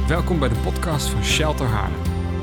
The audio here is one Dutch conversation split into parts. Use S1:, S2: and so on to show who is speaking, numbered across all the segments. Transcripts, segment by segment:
S1: Welkom bij de podcast van Shelter Haarlem.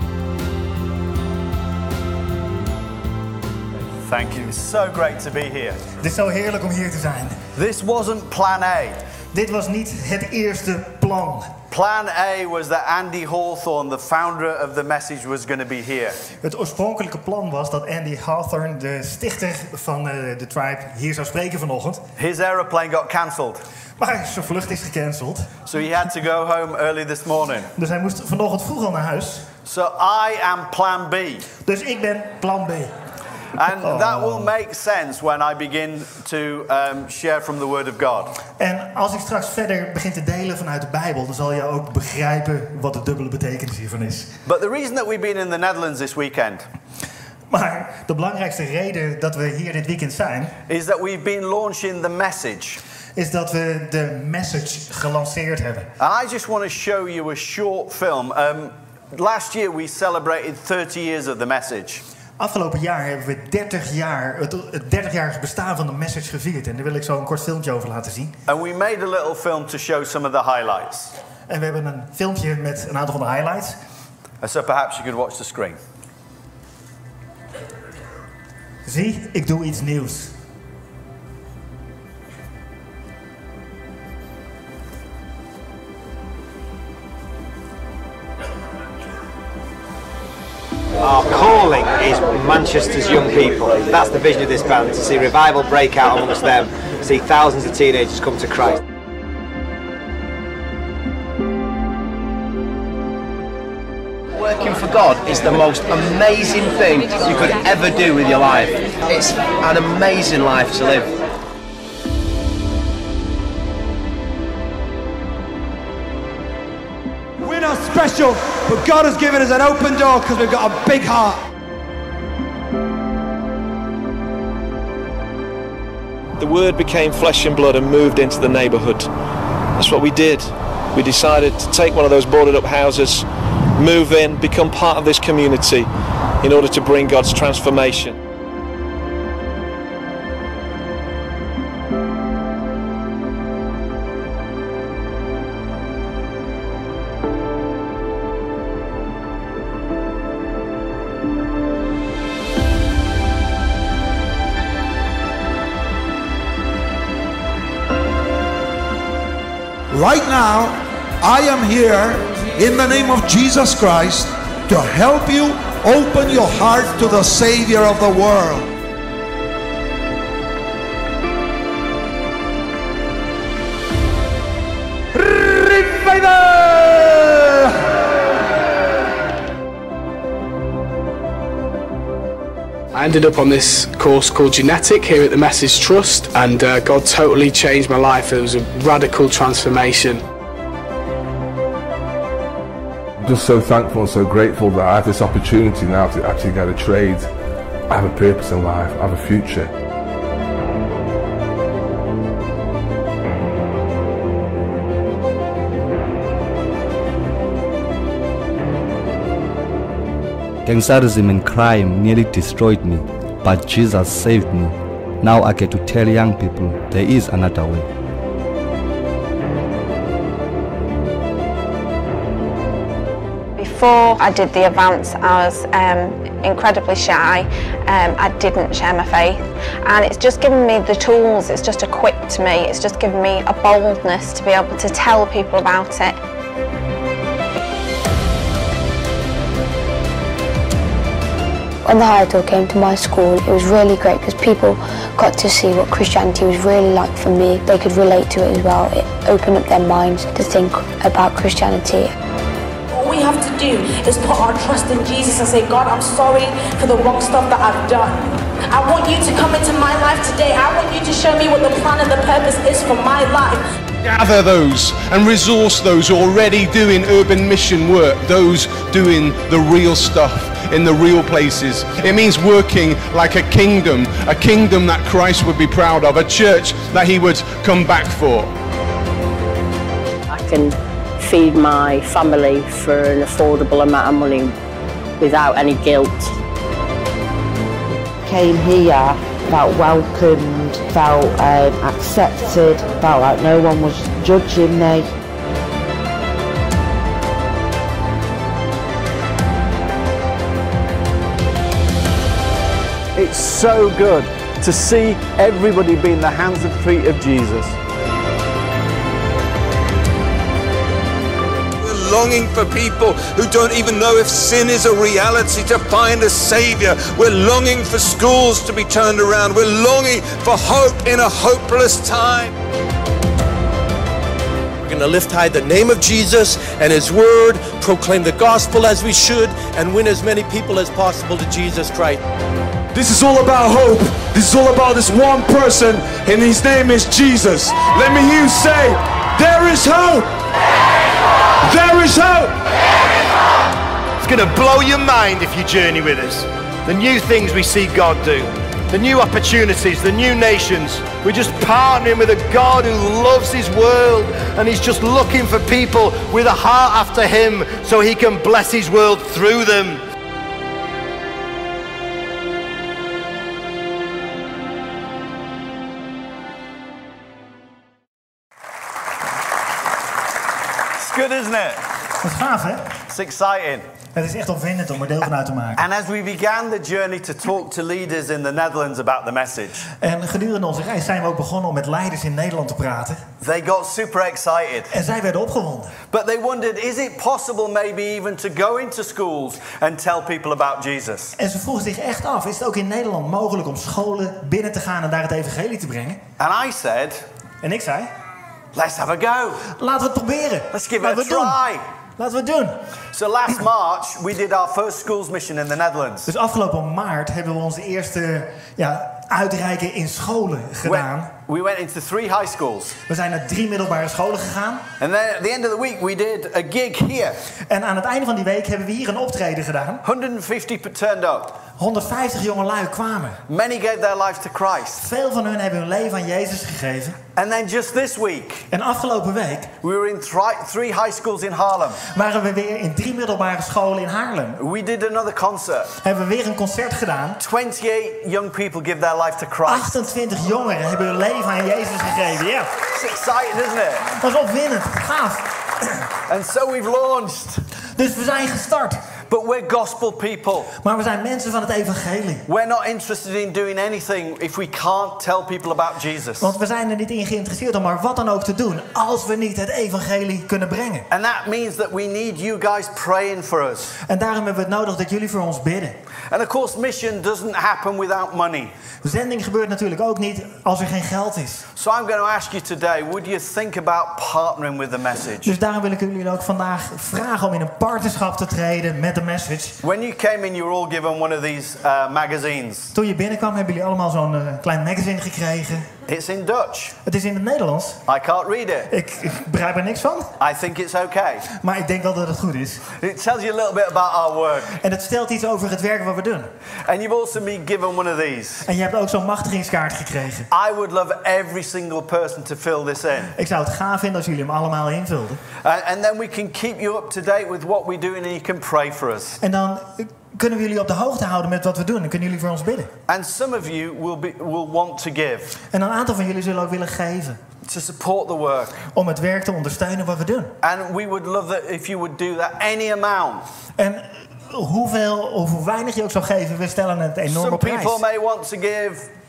S2: Thank you. It's so great to be here.
S3: Het is zo heerlijk om hier te zijn.
S2: This wasn't plan A.
S3: Dit was niet het eerste plan.
S2: Plan A was that Andy Hawthorne, the founder of the message, was going to be here.
S3: Het oorspronkelijke plan was dat Andy Hawthorne, de stichter van de Tribe, hier zou spreken vanochtend.
S2: His aeroplane got cancelled.
S3: Maar zijn vlucht is gecanceld.
S2: So he had to go home early this morning.
S3: Dus hij moest vanochtend vroeg al naar huis.
S2: So I am plan B.
S3: Dus ik ben plan B.
S2: And that will make sense when I begin to share from the Word of God.
S3: En als ik straks verder begin te delen vanuit de Bijbel, dan zal je ook begrijpen wat de dubbele betekenis hiervan is.
S2: But the reason that we've been in the Netherlands this weekend
S3: Maar de belangrijkste reden dat we hier dit weekend zijn,
S2: is that we've been launching the message.
S3: Is dat we de message gelanceerd hebben.
S2: And I just want to show you a short film. Last year we celebrated 30 years of the message.
S3: Afgelopen jaar hebben we 30 jaar, het 30-jarige bestaan van de message gevierd. En daar wil ik zo een kort filmpje over laten zien.
S2: And we made a little film to show some of the highlights.
S3: En we hebben een filmpje met een aantal van de highlights.
S2: And so perhaps you could watch the screen.
S3: Zie, ik doe iets nieuws.
S4: Our calling is Manchester's young people. That's the vision of this band, to see revival break out amongst them, see thousands of teenagers come to Christ.
S5: Working for God is the most amazing thing you could ever do with your life. It's an amazing life to live.
S6: We're not special, but God has given us an open door because we've got a big heart.
S7: The word became flesh and blood and moved into the neighbourhood. That's what we did. We decided to take one of those boarded up houses, move in, become part of this community in order to bring God's transformation.
S8: Right now, I am here in the name of Jesus Christ to help you open your heart to the Savior of the world.
S9: I ended up on this course called Genetic here at the Message Trust, and God totally changed my life. It was a radical transformation.
S10: I'm just so thankful and so grateful that I have this opportunity now to actually get a trade. I have a purpose in life, I have a future.
S11: Gangsterism and crime nearly destroyed me, but Jesus saved me. Now I get to tell young people there is another way.
S12: Before I did the advance, I was incredibly shy. I didn't share my faith, and it's just given me the tools, it's just equipped me, it's just given me a boldness to be able to tell people about it.
S13: When the High Door came to my school, it was really great because people got to see what Christianity was really like for me. They could relate to it as well. It opened up their minds to think about Christianity.
S14: All we have to do is put our trust in Jesus and say, God, I'm sorry for the wrong stuff that I've done. I want you to come into my life today. I want you to show me what the plan and the purpose is for my life.
S15: Gather those and resource those already doing urban mission work, those doing the real stuff in the real places. It means working like a kingdom that Christ would be proud of, a church that he would come back for.
S16: I can feed my family for an affordable amount of money without any guilt.
S17: Came here, felt welcomed, felt accepted, felt like no one was judging me.
S2: It's so good to see everybody be in the hands and feet of Jesus.
S18: Longing for people who don't even know if sin is a reality to find a Saviour. We're longing for schools to be turned around. We're longing for hope in a hopeless time.
S5: We're going to lift high the name of Jesus and His Word, proclaim the gospel as we should, and win as many people as possible to Jesus Christ.
S6: This is all about hope. This is all about this one person, and His name is Jesus. Let me hear you say, there is hope. There is hope.
S5: It's going to blow your mind if you journey with us. The new things we see God do, the new opportunities, the new nations. We're just partnering with a God who loves His world, and He's just looking for people with a heart after Him so He can bless His world through them.
S2: Good, isn't it?
S3: Wat gaaf, hè?
S2: It's exciting.
S3: Het is echt opwindend om er deel van uit te maken.
S2: And as we began the journey to talk to leaders in the Netherlands about the message.
S3: En gedurende onze reis zijn we ook begonnen om met leiders in Nederland te praten.
S2: They got super excited.
S3: En zij werden opgewonden.
S2: But they wondered, is it possible maybe even to go into schools and tell people about Jesus?
S3: En ze vroegen zich echt af, is het ook in Nederland mogelijk om scholen binnen te gaan en daar het evangelie te brengen?
S2: And I said,
S3: en ik zei,
S2: let's have a go.
S3: Laten we het proberen.
S2: Let's give it a try.
S3: Laten we het doen.
S2: So last March we did our first schools mission in the Netherlands.
S3: Dus afgelopen maart hebben we onze eerste uitreiken in scholen gedaan.
S2: We went into 3 high schools.
S3: We zijn naar 3 middelbare scholen gegaan.
S2: And then at the end of the week we did a gig here.
S3: En aan het einde van die week hebben we hier een optreden gedaan.
S2: 150 turned up.
S3: 150 jongelui kwamen.
S2: Many gave their lives to Christ.
S3: Veel van hun hebben hun leven aan Jezus gegeven.
S2: And then just this week.
S3: En afgelopen week.
S2: We were in 3 high schools in Haarlem.
S3: Waren we weer in 3 middelbare scholen in Haarlem.
S2: We did another concert.
S3: Hebben we weer een concert gedaan.
S2: 28 young people give their life to Christ.
S3: 28 jongeren hebben hun leven aan Jezus gegeven. Ja.
S2: It's exciting, isn't it?
S3: Dat is opwindend. Gaaf.
S2: And so we've launched.
S3: Dus we zijn gestart.
S2: But we're gospel people.
S3: Maar we zijn mensen van het evangelie.
S2: We're not interested in doing anything if we can't tell people about Jesus.
S3: Want we zijn er niet in geïnteresseerd om maar wat dan ook te doen als we niet het evangelie kunnen brengen.
S2: And that means that we need you guys praying for us.
S3: En daarom hebben we het nodig dat jullie voor ons bidden.
S2: And of course mission doesn't happen without money.
S3: Zending gebeurt natuurlijk ook niet als er geen geld is.
S2: So I'm going to ask you today, would you think about partnering with the message?
S3: Dus daarom wil ik jullie ook vandaag vragen om in een partnerschap te treden met de message.
S2: When you came in, you were all given one of these magazines.
S3: Toen je binnenkwam hebben jullie allemaal zo'n klein magazine gekregen.
S2: It's in Dutch.
S3: Het is in het Nederlands.
S2: I can't read it.
S3: Ik begrijp er niks van.
S2: I think it's okay.
S3: Maar ik denk wel dat het goed is.
S2: It tells you a little bit about our work.
S3: En het stelt iets over het werk wat we doen.
S2: And you've also been given one of these.
S3: En je hebt ook zo'n machtigingskaart gekregen.
S2: I would love every single person to fill this in.
S3: Ik zou het gaaf vinden als jullie hem allemaal invulden.
S2: And then we can keep you up to date with what we do and you can pray for us.
S3: En dan kunnen we jullie op de hoogte houden met wat we doen en kunnen jullie voor ons bidden.
S2: And some of you will want to give.
S3: En een aantal van jullie zullen ook willen geven.
S2: To support the work.
S3: Om het werk te ondersteunen wat we doen.
S2: And we would love that if you would do that any amount.
S3: En hoeveel of hoe weinig je ook zou geven, we stellen het enorm op prijs.
S2: Some people may want to give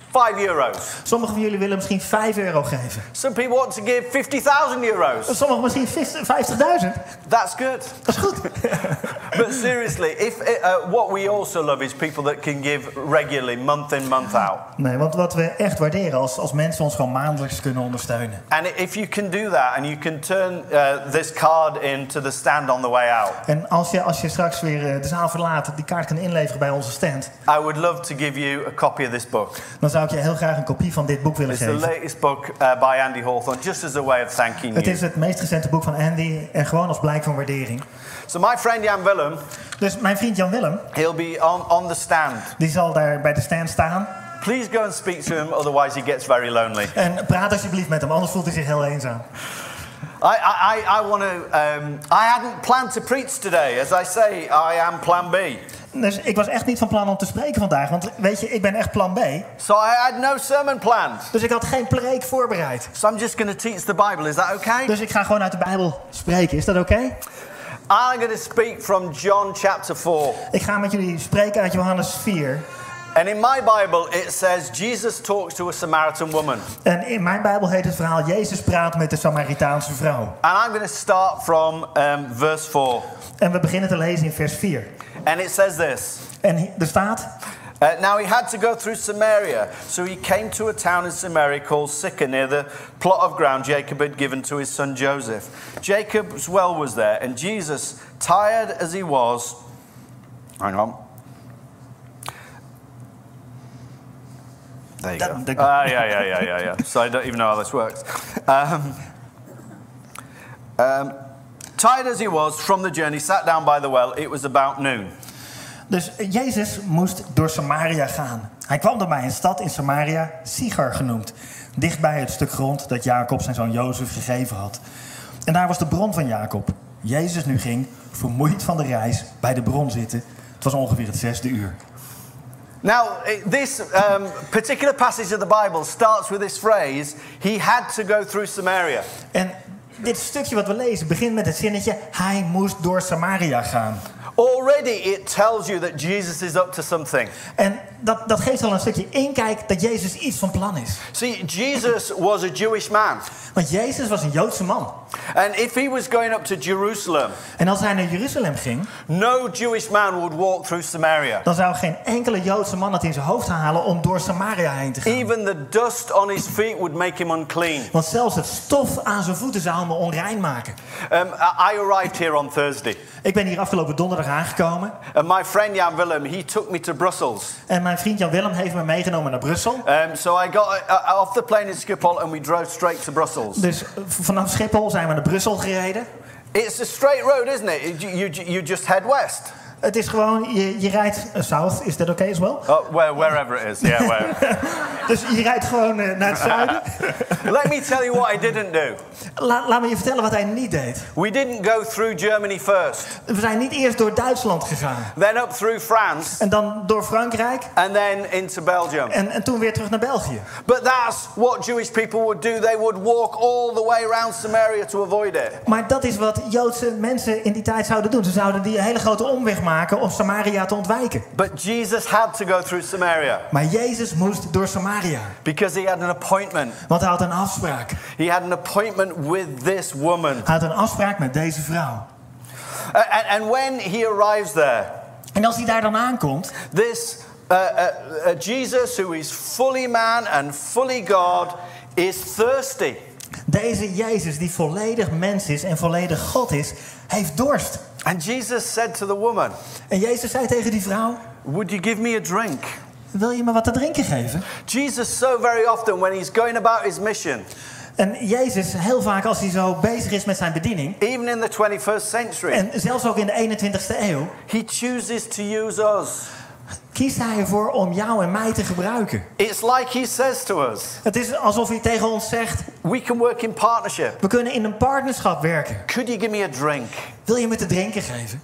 S2: €5.
S3: Sommigen van jullie willen misschien €5 geven.
S2: Some people want to give €50,000.
S3: Sommigen misschien 50.000.
S2: That's good.
S3: Dat is goed.
S2: But seriously, what we also love is people that can give regularly, month in, month out.
S3: Nee, want wat we echt waarderen als mensen ons gewoon maandelijks kunnen ondersteunen.
S2: And if you can do that and you can turn this card into the stand on the way out.
S3: En als je straks weer de zaal verlaat, die kaart kan inleveren bij onze stand.
S2: I would love to give you a copy of this book.
S3: Dan zou ik je heel graag een kopie van dit boek willen geven.
S2: It's the latest book by Andy Hawthorne, just as a way of thanking you.
S3: Het is het meest recente boek van Andy en gewoon als blijk van waardering.
S2: So my friend Jan Willem.
S3: Dus mijn vriend Jan Willem.
S2: He'll be on the stand.
S3: Die zal daar bij de stand staan.
S2: Please go and speak to him, otherwise he gets very lonely.
S3: En praat alsjeblieft met hem, anders voelt hij zich heel eenzaam.
S2: I want to. I hadn't planned to preach today. As I say, I am Plan B.
S3: Dus ik was echt niet van plan om te spreken vandaag, want weet je, ik ben echt Plan B.
S2: So I had no sermon planned.
S3: Dus ik had geen preek voorbereid.
S2: So I'm just going to teach the Bible. Is that okay?
S3: Dus ik ga gewoon uit de Bijbel spreken. Is dat oké?
S2: I'm going to speak from John chapter 4.
S3: Ik ga met jullie spreken uit Johannes 4.
S2: And in my Bible it says Jesus talks to a Samaritan woman.
S3: En in mijn Bijbel heet het verhaal Jezus praat met de Samaritaanse vrouw.
S2: And I'm going to start from verse 4.
S3: En we beginnen te lezen in vers 4.
S2: And it says this.
S3: En er staat...
S2: Now he had to go through Samaria, so he came to a town in Samaria called Sychar, near the plot of ground Jacob had given to his son Joseph. Jacob's well was there, and Jesus, tired as he was... Hang on. There you go. Yeah. So I don't even know how this works. Tired as he was from the journey, sat down by the well. It was about noon.
S3: Dus Jezus moest door Samaria gaan. Hij kwam dan bij een stad in Samaria, Sychar genoemd. Dichtbij het stuk grond dat Jacob zijn zoon Jozef gegeven had. En daar was de bron van Jacob. Jezus nu ging, vermoeid van de reis, bij de bron zitten. Het was ongeveer het 6e uur.
S2: Now, this particular passage of the Bible starts with this phrase, he had to go through Samaria.
S3: En dit stukje wat we lezen begint met het zinnetje, hij moest door Samaria gaan.
S2: Already it tells you that Jesus is up to something.
S3: En dat geeft al een stukje inkijk dat Jezus iets van plan is.
S2: See, Jesus was a Jewish man.
S3: Want Jezus was een Joodse man.
S2: And if he was going up to Jerusalem,
S3: en als hij naar Jeruzalem ging,
S2: no Jewish man would walk through Samaria.
S3: Dan zou geen enkele Joodse man het in zijn hoofd halen om door Samaria heen te gaan.
S2: Even the dust on his feet would make him unclean.
S3: Want zelfs het stof aan zijn voeten zou hem onrein maken.
S2: I arrived here on Thursday.
S3: Ik ben hier afgelopen donderdag aangekomen.
S2: And my friend Jan Willem, he took me to Brussels.
S3: En mijn vriend Jan Willem heeft me meegenomen naar Brussel.
S2: So I got off the plane in Schiphol and we drove straight to Brussels.
S3: Dus vanaf Schiphol zijn we naar Brussel gereden.
S2: It's a straight road, isn't it? You just head west.
S3: Het is gewoon, je rijdt south, is that okay as well?
S2: Wherever it is, yeah, wherever.
S3: Dus je rijdt gewoon naar het zuiden.
S2: Let me tell you what I didn't do.
S3: Laat me je vertellen wat hij niet deed.
S2: We didn't go through Germany first.
S3: We zijn niet eerst door Duitsland gegaan.
S2: Then up through France.
S3: En dan door Frankrijk.
S2: And then into Belgium.
S3: En toen weer terug naar België.
S2: But that's what Jewish people would do. They would walk all the way around Samaria to avoid it.
S3: Maar dat is wat Joodse mensen in die tijd zouden doen. Ze zouden die hele grote omweg maken om Samaria te ontwijken.
S2: But Jesus had to go through Samaria.
S3: Maar Jezus moest door Samaria.
S2: Because he had an appointment.
S3: Want hij had een afspraak.
S2: He had an appointment with this woman.
S3: Hij had een afspraak met deze vrouw.
S2: And when he arrives there.
S3: En als hij daar dan aankomt.
S2: This Jesus, who is fully man and fully God, is thirsty.
S3: Deze Jezus die volledig mens is en volledig God is, heeft dorst.
S2: And Jesus said to the woman.
S3: En Jezus zei tegen die vrouw.
S2: Would you give me a drink?
S3: Wil je me wat te drinken geven?
S2: Jesus so very often when he's going about his mission.
S3: En Jezus, heel vaak als hij zo bezig is met zijn bediening.
S2: Even in the 21st century.
S3: En zelfs ook in de 21ste eeuw.
S2: He chooses to use us.
S3: Kiest hij ervoor om jou en mij te gebruiken.
S2: It's like he says to us.
S3: Het is alsof hij tegen ons zegt.
S2: We can work in partnership.
S3: We kunnen in een partnerschap werken.
S2: Could you give me a drink?
S3: Wil je me te drinken geven?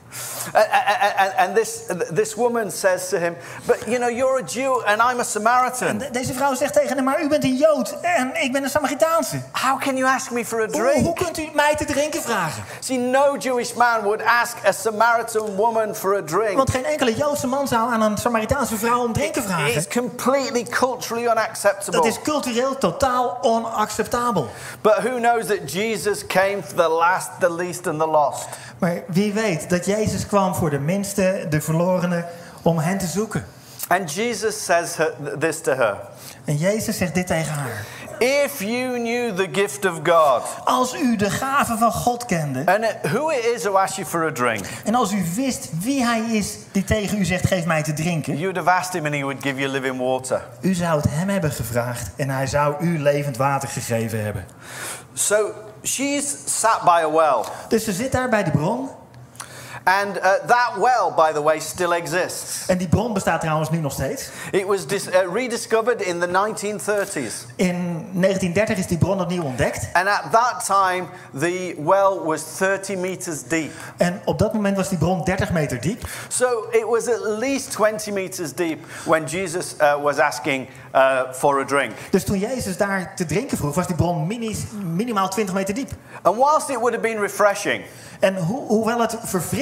S2: And this woman says to him, but you know, you're a Jew and I'm a Samaritan.
S3: En deze vrouw zegt tegen hem, maar u bent een Jood en ik ben een Samaritaanse.
S2: How can you ask me for a drink?
S3: Hoe kunt u mij te drinken vragen?
S2: See, no Jewish man would ask a Samaritan woman for a drink.
S3: Want geen enkele Joodse man zou aan een Samaritaanse vrouw om drinken vragen.
S2: It's completely culturally unacceptable.
S3: Dat is cultureel totaal onacceptabel.
S2: But who knows that Jesus came for the last, the least and the lost.
S3: Maar wie weet dat Jezus kwam voor de minste, de verlorenen, om hen te zoeken.
S2: And Jesus says this to her.
S3: En Jezus zegt dit tegen haar.
S2: If you knew the gift of God.
S3: Als u de gave van God kende.
S2: And who it is who asks you for a drink.
S3: En als u wist wie hij is die tegen u zegt geef mij te drinken.
S2: You would have asked him and he would give you living water.
S3: U zou het hem hebben gevraagd en hij zou u levend water gegeven hebben.
S2: So she's sat by a well.
S3: Dus ze zit daar bij de bron.
S2: And that well, by the way, still exists.
S3: En die bron bestaat trouwens nu nog steeds.
S2: It was rediscovered in the 1930s.
S3: In 1930 is die bron opnieuw ontdekt.
S2: And at that time, the well was 30 meters deep.
S3: En op dat moment was die bron 30 meter diep.
S2: So it was at least 20 meters deep when Jesus was asking for a drink.
S3: Dus toen Jezus daar te drinken vroeg, was die bron minimaal 20 meter diep.
S2: And whilst it would have been refreshing.
S3: En hoewel het verfrissend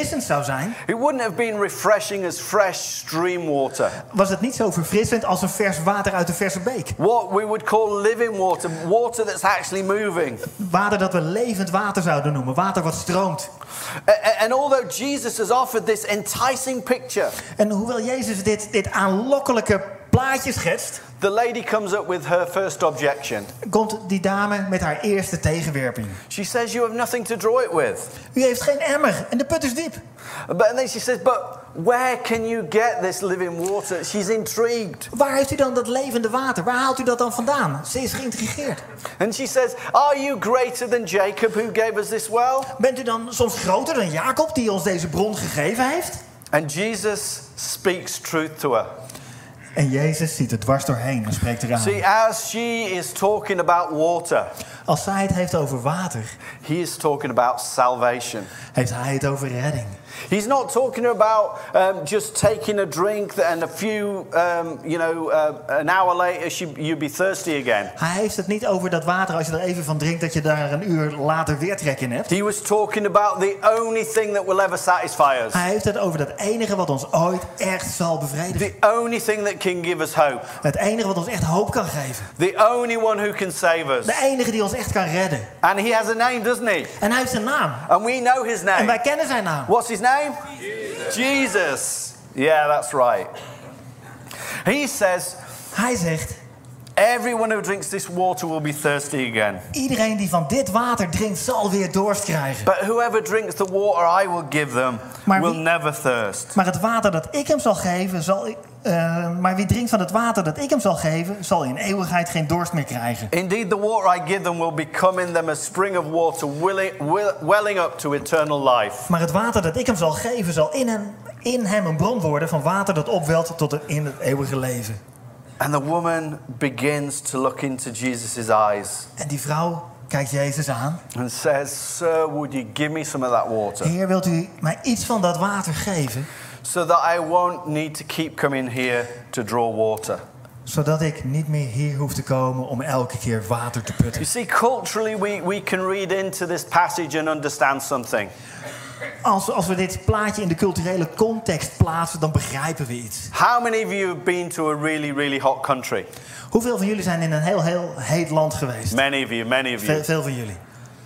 S3: verfrissend zou zijn,
S2: it wouldn't have been refreshing as fresh stream water.
S3: was het niet zo verfrissend als een vers water uit een verse beek.
S2: What we would call living water, water that's actually moving.
S3: Water dat we levend water zouden noemen, water wat stroomt.
S2: And although Jesus has offered this enticing picture,
S3: en hoewel Jezus dit aanlokkelijke plaatje schetst,
S2: the lady comes up with her first objection.
S3: Komt die dame met haar eerste tegenwerping.
S2: She says, you have nothing to draw it with.
S3: U heeft geen emmer en de put is diep.
S2: And then she says, but where can you get this living water? She's intrigued.
S3: Waar heeft u dan dat levende water? Waar haalt u dat dan vandaan? Ze is geïntrigeerd.
S2: And she says, are you greater than Jacob who gave us this well?
S3: Bent u dan soms groter dan Jacob die ons deze bron gegeven heeft?
S2: And Jesus speaks truth to her.
S3: En Jezus ziet er dwars doorheen en spreekt eraan.
S2: See, as she is talking about water,
S3: als zij het heeft over water,
S2: he is talking about salvation.
S3: Heeft hij het over redding.
S2: He's not talking about just taking a drink and a few, an hour later you'd be thirsty again.
S3: Hij heeft het niet over dat water, als je er even van drinkt, dat je daar een uur later weer trek in hebt.
S2: He was talking about the only thing that will ever satisfy us.
S3: Hij heeft het over dat enige wat ons ooit echt zal bevredigen.
S2: The only thing that can give us hope.
S3: Het enige wat ons echt hoop kan geven.
S2: The only one who can save us.
S3: De enige die ons echt kan redden.
S2: And he has a name, doesn't he?
S3: En hij heeft zijn naam.
S2: And we know his name.
S3: En wij kennen zijn naam.
S2: What's his name? Jesus. Yeah, that's right. He says,
S3: hij zegt,
S2: everyone who drinks this water will be thirsty again.
S3: Iedereen die van dit water drinkt zal weer dorst krijgen.
S2: But whoever drinks the water I will give them will never thirst.
S3: Maar het water dat ik hem zal geven, maar wie drinkt van het water dat ik hem zal geven, zal in eeuwigheid geen dorst meer krijgen.
S2: Indeed, the water I give them will become in them a spring of water welling up to eternal life.
S3: Maar het water dat ik hem zal geven, zal in hem een bron worden van water dat opwelt tot in het eeuwige leven.
S2: And the woman begins to look into Jesus' eyes.
S3: En die vrouw kijkt Jezus aan.
S2: And says, Sir, would you give me some of that water?
S3: Heer, wilt u mij iets van dat water geven?
S2: So that I won't need to keep coming here to draw water.
S3: Zodat ik niet meer hier hoef te komen om elke keer water te putten.
S2: You see, culturally we can read into this passage and understand something.
S3: Als we dit plaatje in de culturele context plaatsen, dan begrijpen we iets.
S2: How many of you have been to a really, really hot country?
S3: Hoeveel van jullie zijn in een heel heet land geweest?
S2: Many of you.
S3: Veel van jullie.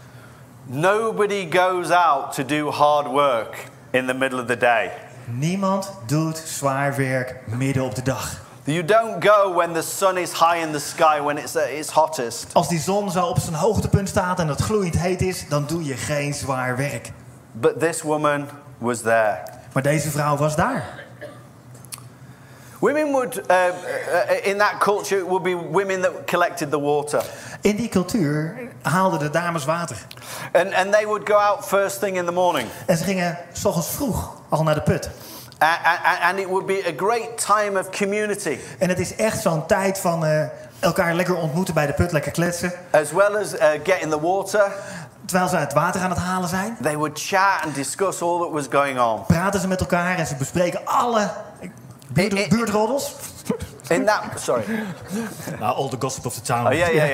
S2: Nobody goes out to do hard work in the middle of the day.
S3: Niemand doet zwaar werk midden op de dag.
S2: You don't go when the sun is high in the sky, when it's at its hottest.
S3: Als die zon zo op zijn hoogtepunt staat en het gloeiend heet is, dan doe je geen zwaar werk.
S2: But this woman was there.
S3: Maar deze vrouw was daar.
S2: Women would, in that culture, it would be women that collected the water.
S3: In die cultuur haalden de dames water.
S2: And they would go out first thing in the morning.
S3: En ze gingen 's ochtends vroeg al naar de put.
S2: And it would be a great time of community.
S3: En het is echt zo'n tijd van elkaar lekker ontmoeten bij de put, lekker kletsen.
S2: As well as getting the water.
S3: Terwijl ze het water aan het halen zijn.
S2: They would chat and discuss all that was going on.
S3: Praten ze met elkaar en ze bespreken alle buurtroddels.
S2: In that, sorry.
S3: All the gossip of the town.
S2: Oh,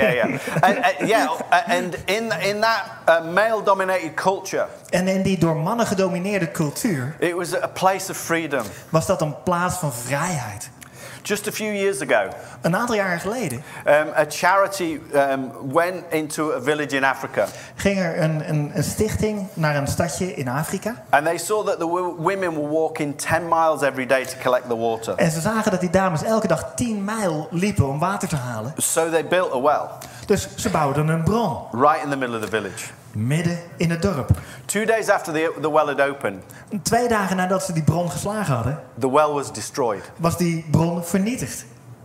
S2: yeah. And in that male-dominated culture.
S3: En in die door mannen gedomineerde cultuur.
S2: It was a place of freedom.
S3: Was dat een plaats van vrijheid.
S2: Just a few years ago,
S3: een aantal jaren geleden,
S2: a charity went into a village in Africa.
S3: Ging er een stichting naar een stadje in Afrika.
S2: And they saw that the women were walking 10 miles every day to collect the water.
S3: En ze zagen dat die dames elke dag 10 mijl liepen om water te halen.
S2: So they built a well.
S3: Dus ze bouwden een bron.
S2: Right in the middle of the village.
S3: Midden in het dorp.
S2: 2 days after the well had opened.
S3: 2 dagen nadat ze die bron geslagen hadden.
S2: The well was destroyed.
S3: Was die bron vernietigd.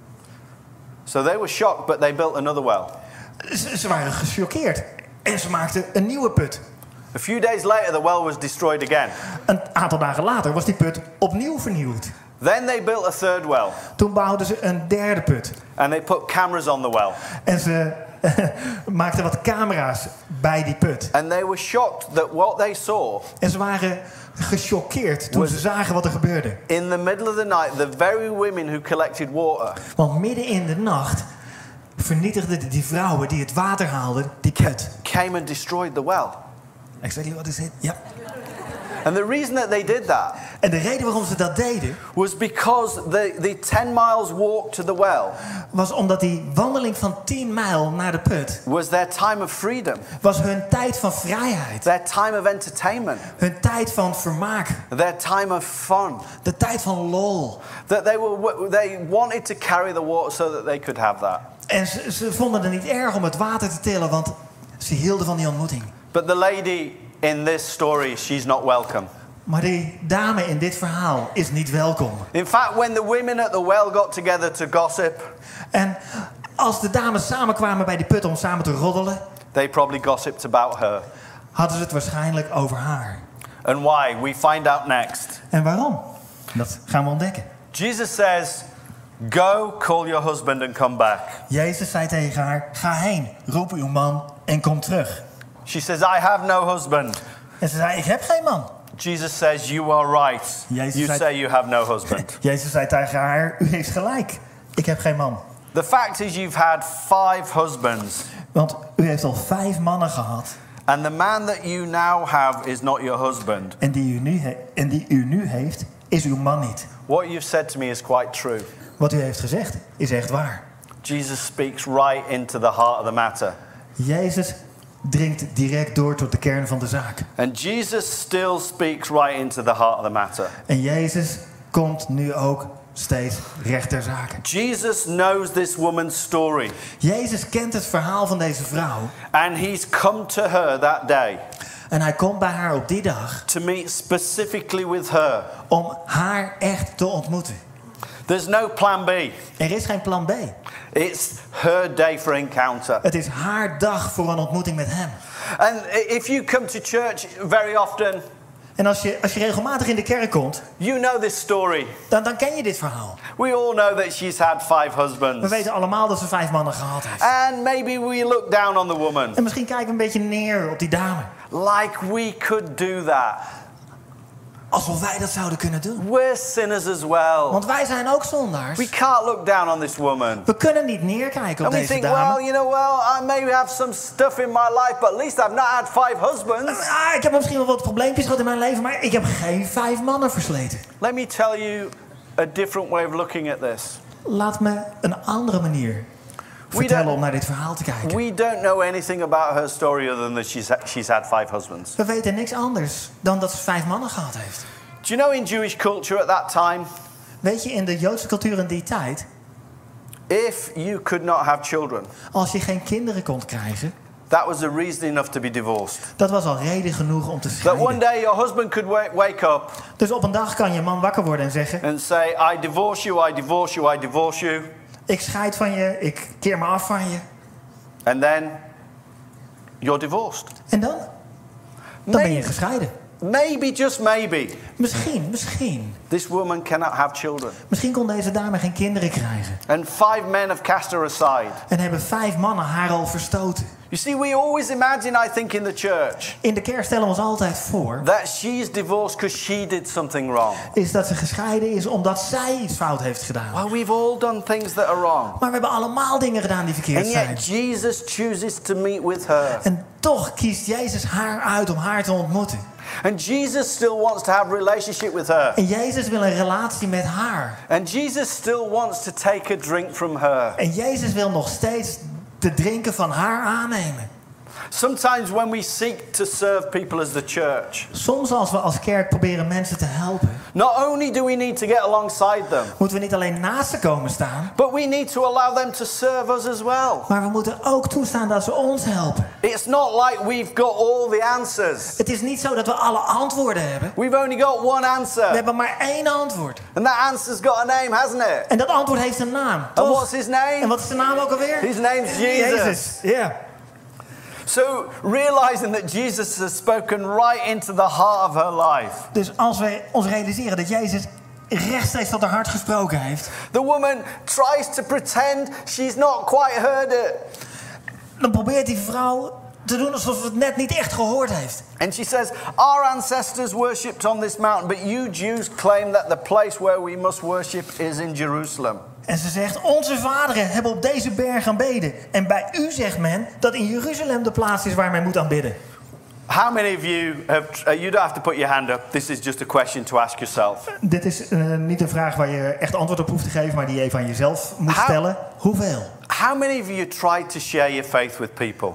S2: So they were shocked, but they built another well.
S3: Ze waren gechoqueerd. En ze maakten een nieuwe put.
S2: A few days later, the well was destroyed again.
S3: Een aantal dagen later was die put opnieuw vernieuwd.
S2: Then they built a third well.
S3: Toen bouwden ze een derde put.
S2: And they put cameras on the well.
S3: En ze maakten wat camera's bij die put.
S2: And they were shocked that what they saw.
S3: En ze waren gechoqueerd toen ze zagen wat er gebeurde.
S2: In the middle of the night, the very women who collected water.
S3: Want midden in de nacht vernietigden die vrouwen die het water haalden die put.
S2: Came and destroyed the well.
S3: Exactly what is it? Ja.
S2: And the reason that they did that
S3: En de reden waarom ze dat deden
S2: was because the 10 miles walk to the well
S3: was omdat die wandeling van 10 mijl naar de put
S2: was their time of freedom.
S3: Was hun tijd van vrijheid.
S2: Their time of entertainment.
S3: Hun tijd van vermaak.
S2: Their time of fun.
S3: De tijd van lol.
S2: That they wanted to carry the water so that they could have that.
S3: En ze vonden het niet erg om het water te tillen, want ze hielden van die ontmoeting.
S2: But the lady in this story, she's not welcome.
S3: Maar die dame in dit verhaal is niet welkom.
S2: In fact, when the women at the well got together to gossip,
S3: en als de dames samenkwamen bij die put om samen te roddelen,
S2: they probably gossiped about her.
S3: Hadden ze het waarschijnlijk over haar.
S2: And why? We find out next.
S3: En waarom? Dat gaan we ontdekken.
S2: Jesus says, "Go, call your husband and come back."
S3: Jezus zei tegen haar: ga heen, roep uw man en kom terug.
S2: She says, "I have no husband."
S3: En ze zei: ik heb geen man.
S2: Jesus says, "You are right. You say you have no husband."
S3: Jezus zei tegen haar: u heeft gelijk. Ik heb geen man.
S2: The fact is, you've had 5 husbands.
S3: Want u heeft al 5 mannen gehad.
S2: And the man that you now have is not your husband.
S3: En die u nu heeft, is uw man niet.
S2: What you've said to me is quite true.
S3: Wat u heeft gezegd is echt waar.
S2: Jesus speaks right into the heart of the matter.
S3: Jezus dringt direct door tot de kern van de zaak.
S2: And Jesus still speaks right into the heart of the matter.
S3: En Jezus komt nu ook steeds recht ter zake.
S2: Jesus knows this woman's story.
S3: Jezus kent het verhaal van deze vrouw.
S2: And he's come to her that day.
S3: En hij komt bij haar op die dag.
S2: To meet specifically with her.
S3: Om haar echt te ontmoeten.
S2: There's no plan B.
S3: Er is geen plan B.
S2: It's her day for encounter.
S3: Het is haar dag voor een ontmoeting met hem.
S2: And if you come to church very often,
S3: en als je regelmatig in de kerk komt,
S2: you know this story.
S3: Dan ken je dit verhaal.
S2: We all know that she's had 5 husbands.
S3: We weten allemaal dat ze 5 mannen gehad heeft.
S2: And maybe we look down on the woman.
S3: En misschien kijken we een beetje neer op die dame.
S2: Like we could do that.
S3: Alsof wij dat zouden kunnen doen.
S2: We're sinners as well.
S3: Want wij zijn ook zondaars.
S2: We can't look down on this woman.
S3: We kunnen niet neerkijken op deze
S2: dame.
S3: And
S2: we think, well, I maybe have some stuff in my life, but at least I've not had 5 husbands.
S3: Ik heb misschien wel wat probleempjes gehad in mijn leven, maar ik heb geen 5 mannen versleten.
S2: Let me tell you a different way of looking at this.
S3: Laat me een andere manier vertellen om naar dit verhaal te kijken.
S2: We don't know anything about her story other than that she's had 5 husbands.
S3: We weten niks anders dan dat ze 5 mannen gehad heeft.
S2: Do you know in Jewish culture at that time?
S3: Weet je, in de Joodse cultuur in die tijd,
S2: if you could not have children,
S3: als je geen kinderen kon krijgen,
S2: that was a reason enough to be divorced.
S3: Dat was al reden genoeg om te scheiden.
S2: That one day your husband could wake up.
S3: Dus op een dag kan je man wakker worden en zeggen:
S2: and say, I divorce you, I divorce you, I divorce you.
S3: Ik scheid van je, ik keer me af van je.
S2: And then you're divorced.
S3: En dan? Dan ben je gescheiden.
S2: Maybe, just maybe.
S3: Misschien.
S2: This woman cannot have children.
S3: Misschien kon deze dame geen kinderen krijgen.
S2: And 5 men have cast her aside.
S3: En hebben 5 mannen haar al verstoten.
S2: You see, we always imagine, I think, in the church.
S3: In de kerk stellen we ons altijd voor.
S2: That she's divorced because she did something wrong.
S3: Is dat ze gescheiden is omdat zij iets fout heeft gedaan.
S2: Well, we've all done things that are wrong.
S3: Maar we hebben allemaal dingen gedaan die verkeerd zijn.
S2: And yet Jesus chooses to meet with her.
S3: En toch kiest Jezus haar uit om haar te ontmoeten.
S2: And Jesus still wants to have a relationship with her.
S3: En Jezus wil een relatie met haar.
S2: And Jesus still wants to take a drink from her.
S3: En Jezus wil nog steeds de drinken van haar aannemen.
S2: Sometimes when we seek to serve people as the church.
S3: Soms als we als kerk proberen mensen te helpen.
S2: Not only do we need to get alongside them.
S3: Moeten we niet alleen naast ze komen staan.
S2: But we need to allow them to serve us as well.
S3: Maar we moeten ook toestaan dat ze ons helpen.
S2: It's not like we've got all the answers.
S3: Het is niet zo dat we alle antwoorden hebben.
S2: We've only got one answer.
S3: We hebben maar 1 antwoord.
S2: And that answer's got a name, hasn't it?
S3: En dat antwoord heeft een naam.
S2: And what's his name?
S3: En wat is de naam ook alweer?
S2: His name's Jesus.
S3: Yeah.
S2: So realizing that Jesus has spoken right into the heart of her life.
S3: Dus als wij ons realiseren dat Jezus rechtstreeks tot haar hart gesproken heeft.
S2: The woman tries to pretend she's not quite heard it.
S3: Dan probeert die vrouw te doen alsof het net niet echt gehoord heeft.
S2: And she says, our ancestors worshipped on this mountain, but you Jews claim that the place where we must worship is in Jerusalem.
S3: En ze zegt, onze vaderen hebben op deze berg aanbeden. En bij u zegt men dat in Jeruzalem de plaats is waar men moet aanbidden.
S2: How many of you have, you don't have to put your hand up. This is just a question to ask yourself.
S3: Dit is niet een vraag waar je echt antwoord op hoeft te geven, maar die je even aan jezelf moet stellen. Hoeveel?
S2: How many of you tried to share your faith with people?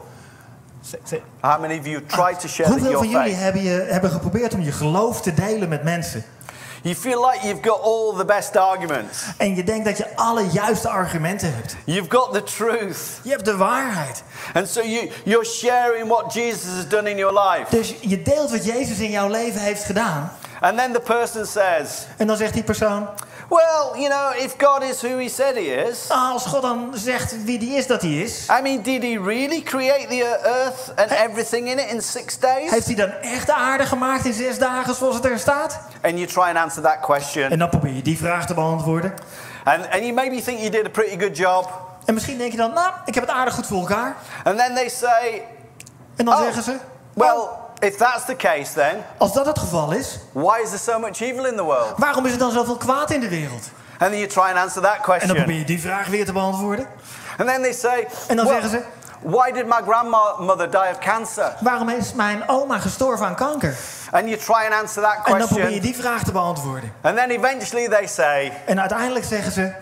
S2: How many of you tried to share your faith?
S3: Hoeveel van jullie hebben geprobeerd om je geloof te delen met mensen?
S2: You feel like you've got all the best arguments.
S3: En je denkt dat je alle juiste argumenten hebt.
S2: You've got the truth.
S3: Je hebt de waarheid.
S2: And so you're sharing what Jesus has done in your life.
S3: Dus je deelt wat Jezus in jouw leven heeft gedaan.
S2: And then the person says.
S3: En dan zegt die persoon.
S2: Well, you know, if God is who he said he is.
S3: Als God dan zegt wie die is dat hij is.
S2: I mean, did he really create the earth and everything in it in 6 days?
S3: Heeft hij dan echt de aarde gemaakt in 6 dagen zoals het er staat?
S2: And you try and answer that question.
S3: En dan probeer je die vraag te beantwoorden.
S2: And you maybe think you did a pretty good job.
S3: En misschien denk je dan, nou, ik heb het aardig goed voor elkaar.
S2: And then they say.
S3: En dan zeggen ze.
S2: Well, if that's the case then.
S3: Als dat het geval is.
S2: Why is there so much evil in the world?
S3: Waarom is er dan zoveel kwaad in de wereld?
S2: And then you try and answer that question.
S3: En dan probeer je die vraag weer te beantwoorden.
S2: And then they say.
S3: En dan zeggen ze.
S2: Why did my grandmother die of cancer?
S3: Waarom is mijn oma gestorven aan kanker?
S2: And you try and answer that question.
S3: En dan probeer je die vraag te beantwoorden.
S2: And then eventually they say.
S3: En uiteindelijk zeggen ze.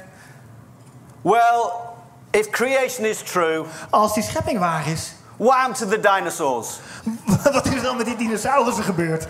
S2: Well, if creation is true.
S3: Als die schepping waar is.
S2: What happened to the dinosaurs?
S3: Wat is er dan met die dinosaurussen gebeurd?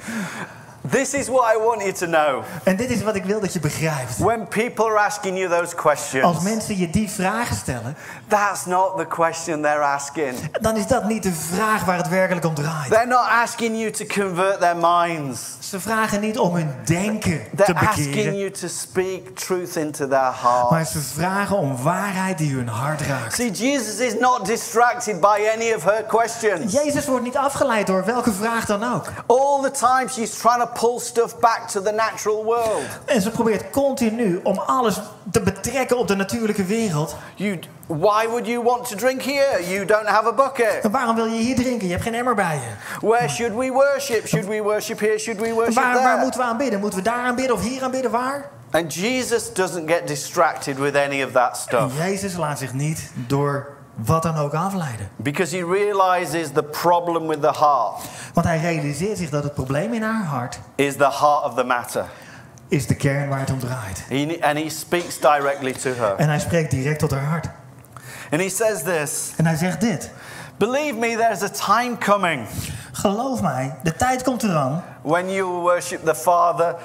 S2: This is what I want you to know.
S3: En dit is wat ik wil dat je begrijpt.
S2: When people are asking you those questions.
S3: Als mensen je die vragen stellen.
S2: That's not the question they're asking.
S3: Dan is dat niet de vraag waar het werkelijk om draait.
S2: They're not asking you to convert their minds.
S3: Ze vragen niet om hun denken te
S2: They're
S3: bekeren.
S2: asking you to speak truth into their heart.
S3: Maar ze vragen om waarheid die hun hart raakt.
S2: See, Jesus is not distracted by any of her questions.
S3: Jezus wordt niet afgeleid door welke vraag dan ook.
S2: All the time she's trying to pull stuff back to the natural world.
S3: En ze probeert continu om alles te betrekken op de natuurlijke wereld.
S2: Why would you want to drink here? You don't have a bucket.
S3: En waarom wil je hier drinken? Je hebt geen emmer bij je.
S2: Where should we worship? Should we worship here? Should we worship there?
S3: Waar moeten we aanbidden? Moeten we daar aanbidden of hier aanbidden? Waar?
S2: And Jesus doesn't get distracted with any of that stuff.
S3: En Jezus laat zich niet door wat dan ook afleiden.
S2: Because he realizes the problem with the heart.
S3: Want hij realiseert zich dat het probleem in haar hart
S2: is the heart of the matter.
S3: Is de kern waar het om draait.
S2: And he speaks directly to her.
S3: En hij spreekt direct tot haar hart.
S2: And he says this.
S3: En hij zegt dit.
S2: Believe me, there's a time coming.
S3: Geloof mij, de tijd komt eraan.
S2: When you worship the Father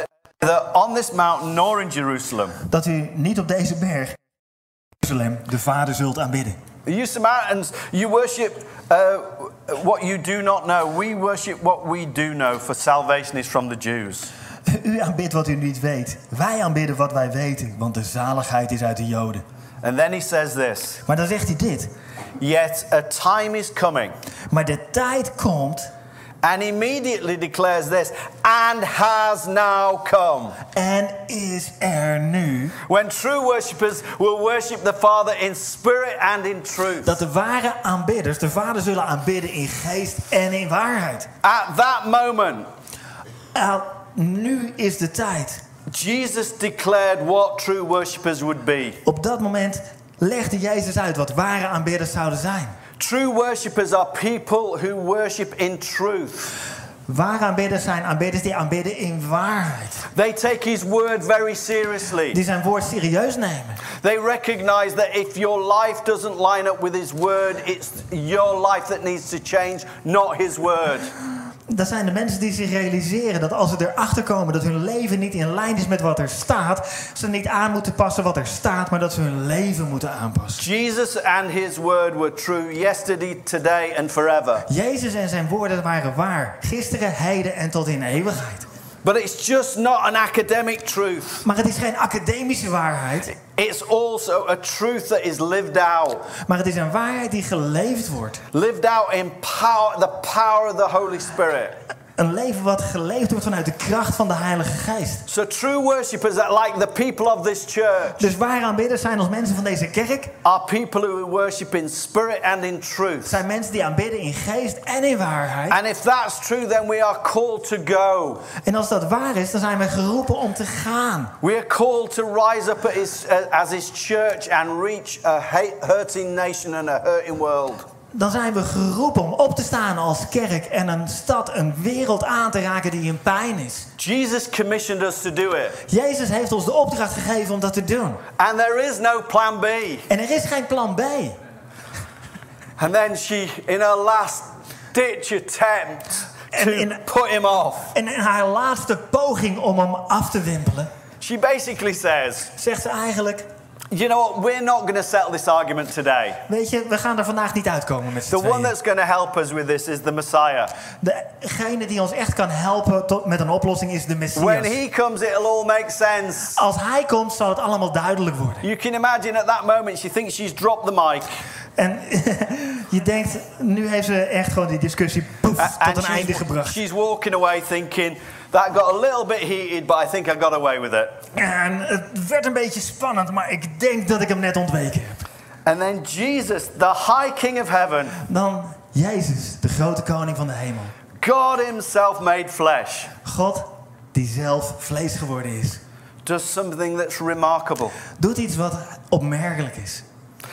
S2: on this mountain nor in Jerusalem.
S3: Dat u niet op deze berg, Jeruzalem, de Vader zult aanbidden.
S2: You Samaritans, you worship what you do not know. We worship what we do know, for salvation is from the Jews.
S3: U aanbidt wat u niet weet. Wij aanbidden wat wij weten, want de zaligheid is uit de Joden.
S2: And then he says this.
S3: Maar dan zegt hij dit.
S2: Yet a time is coming.
S3: Maar de tijd komt.
S2: And immediately declares this. And has now come.
S3: En is er nu.
S2: When true worshippers will worship the Father in spirit and in truth.
S3: Dat de ware aanbidders de Vader zullen aanbidden in geest en in waarheid.
S2: At that moment.
S3: Nu is de tijd.
S2: Jesus declared what true worshippers would be.
S3: Op dat moment legde Jezus uit wat ware aanbidders zouden zijn.
S2: True worshippers are people who worship in truth.
S3: Ware aanbidders zijn aanbidders die aanbidden in waarheid.
S2: They take his word very seriously.
S3: Die zijn woord serieus nemen.
S2: They recognize that if your life doesn't line up with his word, it's your life that needs to change, not his word.
S3: Dat zijn de mensen die zich realiseren dat als ze erachter komen dat hun leven niet in lijn is met wat er staat, ze niet aan moeten passen wat er staat, maar dat ze hun leven moeten aanpassen.
S2: Jesus and his word were true yesterday, today and forever.
S3: Jezus en zijn woorden waren waar, gisteren, heden en tot in eeuwigheid.
S2: But it's just not an academic truth.
S3: Maar het is geen academische waarheid.
S2: It's also a truth that is lived out.
S3: Maar het is een waarheid die geleefd wordt.
S2: Lived out in power, the power of the Holy Spirit.
S3: Een leven wat geleefd wordt vanuit de kracht van de Heilige Geest.
S2: So true worshippers are like the people of this church.
S3: Dus ware aanbidders zijn als mensen van deze kerk.
S2: Are people who worship in spirit and in truth.
S3: Zijn mensen die aanbidden in geest en in waarheid.
S2: And if that's true, then we are called to go.
S3: En als dat waar is, dan zijn we geroepen om te gaan.
S2: We are called to rise up as his church and reach a hurting nation and a hurting world.
S3: dan zijn we geroepen om op te staan als kerk en een stad, een wereld aan te raken die in pijn is.
S2: Jesus commissioned us to do it.
S3: Jezus heeft ons de opdracht gegeven om dat te doen.
S2: And there is no plan B.
S3: En er is geen plan B.
S2: And then she, in her last ditch attempt to put him off.
S3: En in haar laatste poging om hem af te wimpelen,
S2: she basically says,
S3: zegt ze eigenlijk,
S2: you know what, we're not going to settle this argument today.
S3: weet je, we gaan er vandaag niet uitkomen met z'n
S2: The
S3: tweeën.
S2: one that's going to help us with this is the Messiah.
S3: Degene die ons echt kan helpen met een oplossing is de Messias.
S2: When he comes, it'll all make sense.
S3: Als hij komt, zal het allemaal duidelijk worden.
S2: You can imagine at that moment she thinks she's dropped the mic.
S3: En je denkt, nu heeft ze echt gewoon die discussie tot een einde gebracht.
S2: She's walking away thinking, that got a little bit heated, but I think I got away with it.
S3: En het werd een beetje spannend, maar ik denk dat ik hem net ontweken heb.
S2: And then Jesus, the high king of heaven.
S3: Dan Jezus, de grote koning van de hemel.
S2: God himself made flesh.
S3: God die zelf vlees geworden is.
S2: Does something that's remarkable.
S3: Doet iets wat opmerkelijk is.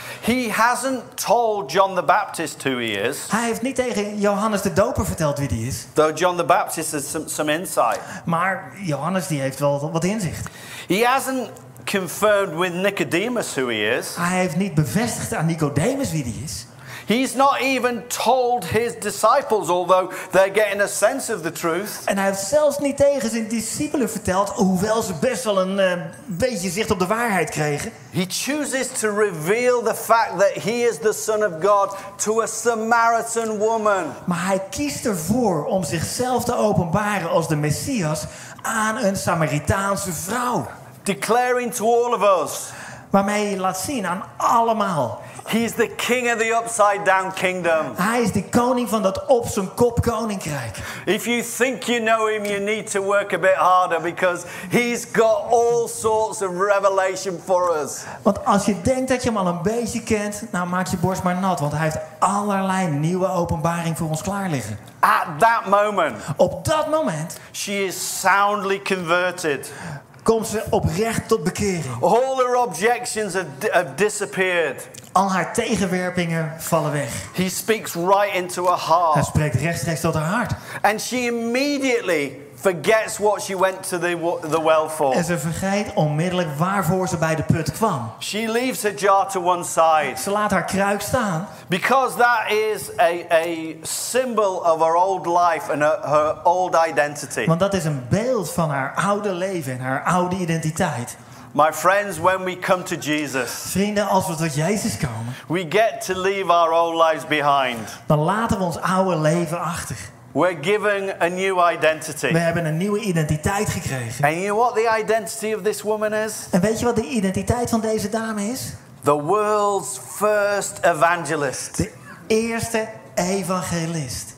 S2: He hasn't told John the Baptist who he is.
S3: Hij heeft niet tegen Johannes de Doper verteld wie die is.
S2: Though John the Baptist has some insight.
S3: Maar Johannes die heeft wel wat inzicht.
S2: He hasn't confirmed with Nicodemus who he is.
S3: Hij heeft niet bevestigd aan Nicodemus wie die is.
S2: He's not even told his disciples, although they're getting a sense of the truth.
S3: En hij heeft zelfs niet tegen zijn discipelen verteld, hoewel ze best wel een beetje zicht op de waarheid kregen.
S2: He chooses to reveal the fact that he is the Son of God to a Samaritan woman.
S3: Maar hij kiest ervoor om zichzelf te openbaren als de Messias aan een Samaritaanse vrouw.
S2: Declaring to all of us.
S3: Waarmee hij laat zien aan allemaal.
S2: He's the king of the upside down kingdom.
S3: Hij is de koning van dat op zijn kop koninkrijk.
S2: If you think you know him, you need to work a bit harder because he's got all sorts of revelation for us.
S3: Want als je denkt dat je hem al een beetje kent, nou maak je borst maar nat, want hij heeft allerlei nieuwe openbaring voor ons klaar liggen.
S2: At that moment,
S3: op dat moment,
S2: she is soundly converted.
S3: Komt ze oprecht tot bekering.
S2: All her objections have disappeared.
S3: Al haar tegenwerpingen vallen weg.
S2: He speaks right into her heart.
S3: Hij spreekt rechtstreeks tot haar hart.
S2: And she immediately forgets what she went to the well for.
S3: En ze vergeet onmiddellijk waarvoor ze bij de put kwam.
S2: She leaves her jar to one side.
S3: Ze laat haar kruik staan.
S2: Because that is a symbol of her old life and her old identity.
S3: Want dat is een beeld van haar oude leven en haar oude identiteit.
S2: My friends, when we come to Jesus,
S3: vrienden, als we tot Jezus komen,
S2: we get to leave our old lives behind.
S3: Dan laten we ons oude leven achter.
S2: We're given a new identity.
S3: We hebben een nieuwe identiteit gekregen.
S2: And you know what the identity of this woman is?
S3: En weet je wat de identiteit van deze dame is?
S2: The world's first evangelist.
S3: De eerste evangelist.